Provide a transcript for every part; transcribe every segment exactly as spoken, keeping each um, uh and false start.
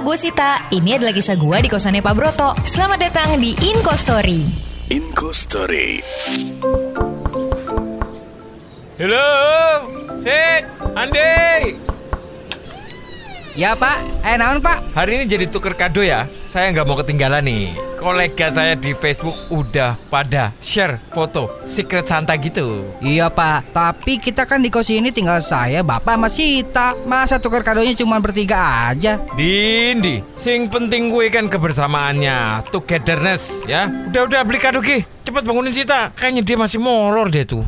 Halo, gue Sita. Ini adalah kisah gue di kosannya Pak Broto. Selamat datang di Inko Story. Inko Story. Halo, Sit, Andi. Ya Pak, eh naon Pak? Hari ini jadi tuker kado ya. Saya nggak mau ketinggalan nih. Kolega saya di Facebook udah pada share foto Secret Santa gitu. Iya Pak, tapi kita kan di kos ini tinggal saya, Bapak sama Sita. Masa tuker kadonya cuma bertiga aja? Dindi, sing penting gue kan kebersamaannya, togetherness ya. Udah-udah beli kado Ki. Cepet bangunin Sita. Kayaknya dia masih molor deh tuh.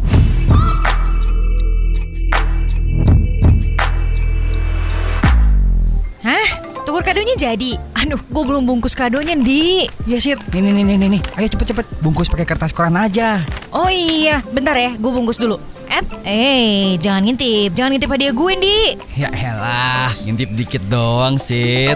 Hah? Tuker kadonya jadi? Aduh, gue belum bungkus kadonya, Di. Iya Sit, nih nih nih nih nih. Ayo cepet-cepet, bungkus pakai kertas koran aja. Oh iya, bentar ya, gue bungkus dulu. Eh, eh, jangan ngintip, jangan ngintip hadiah gue, Di. Ya elah, ngintip dikit doang Sit.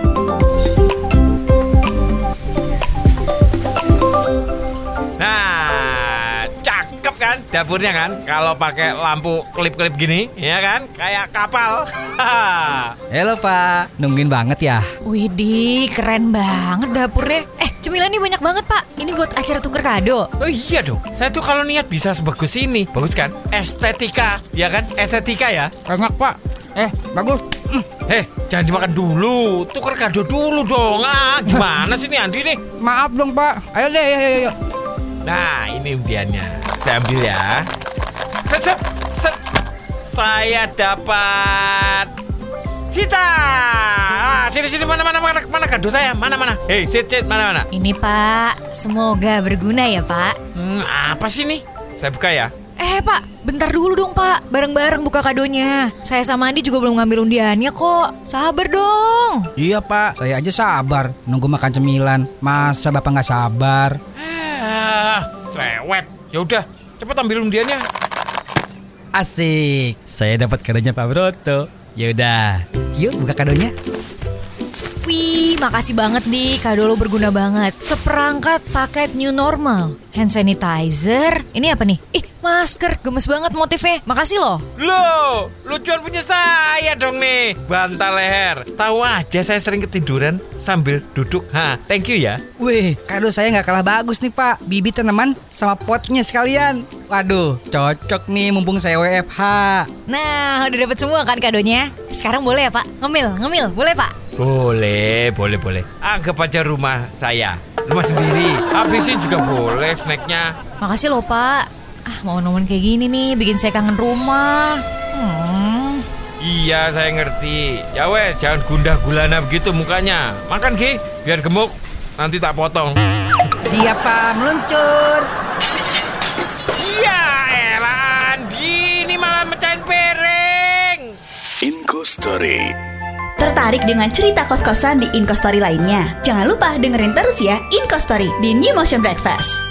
Nah, cakep kan dapurnya kan? Kalau pakai lampu kelip-kelip gini, ya kan? Kayak kapal. Halo Pak, nungguin banget ya? Widih, keren banget dapurnya. Eh, cemilannya banyak banget, Pak. Ini buat acara tuker kado. Oh iya dong, saya tuh kalau niat bisa sebagus ini. Bagus kan? Estetika, ya kan? Estetika ya. Enak Pak. Eh, bagus. Mm. Eh, jangan dimakan dulu. Tuker kado dulu dong. Ah, gimana sih nih Andi nih? Maaf dong Pak. Ayo deh, ayo, ayo, ayo. Nah, ini undiannya. Saya ambil ya. Set, set, set. Saya dapat Sita. Ah, sini, sini, mana, mana, mana, mana kado saya? Mana, mana? Hei, sit, sit, mana, mana? Ini, Pak. Semoga berguna ya, Pak. Hmm, apa sih nih? Saya buka ya. Eh, Pak. Bentar dulu dong, Pak. Bareng-bareng buka kadonya. Saya sama Andi juga belum ngambil undiannya kok. Sabar dong. Iya Pak, saya aja sabar nunggu makan cemilan. Masa Bapak nggak sabar? Ah, cerewet. Ya udah, cepet ambil undiannya. Asik, saya dapat kadonya Pak Broto. Yaudah, yuk buka kadonya. Wih, makasih banget Di, kado lo berguna banget. Seperangkat paket new normal, hand sanitizer. Ini apa nih? Ih, masker, gemes banget motifnya. Makasih loh. Loh, lucuan punya saya dong nih. Bantal leher. Tahu aja saya sering ketiduran sambil duduk. Ha, thank you ya. Wih, kado saya nggak kalah bagus nih Pak. Bibit tanaman sama potnya sekalian. Waduh, cocok nih mumpung saya W F H. Nah, udah dapet semua kan kadonya? Sekarang boleh ya Pak? Ngemil, ngemil, boleh Pak? Boleh, boleh, boleh. Anggap aja rumah saya. Rumah sendiri. Habisin juga boleh snacknya. Makasih loh Pak. Ah, momen-momen kayak gini nih bikin saya kangen rumah. Hmm. Iya, saya ngerti. Ya weh, jangan gundah gulana begitu mukanya. Makan Ki, biar gemuk. Nanti tak potong. Siap Pak, meluncur. Iya, elah Andi, ini malah mecahin piring. Inko Story. Tertarik dengan cerita kos-kosan di Inko Story lainnya? Jangan lupa dengerin terus ya Inko Story di New Motion Breakfast.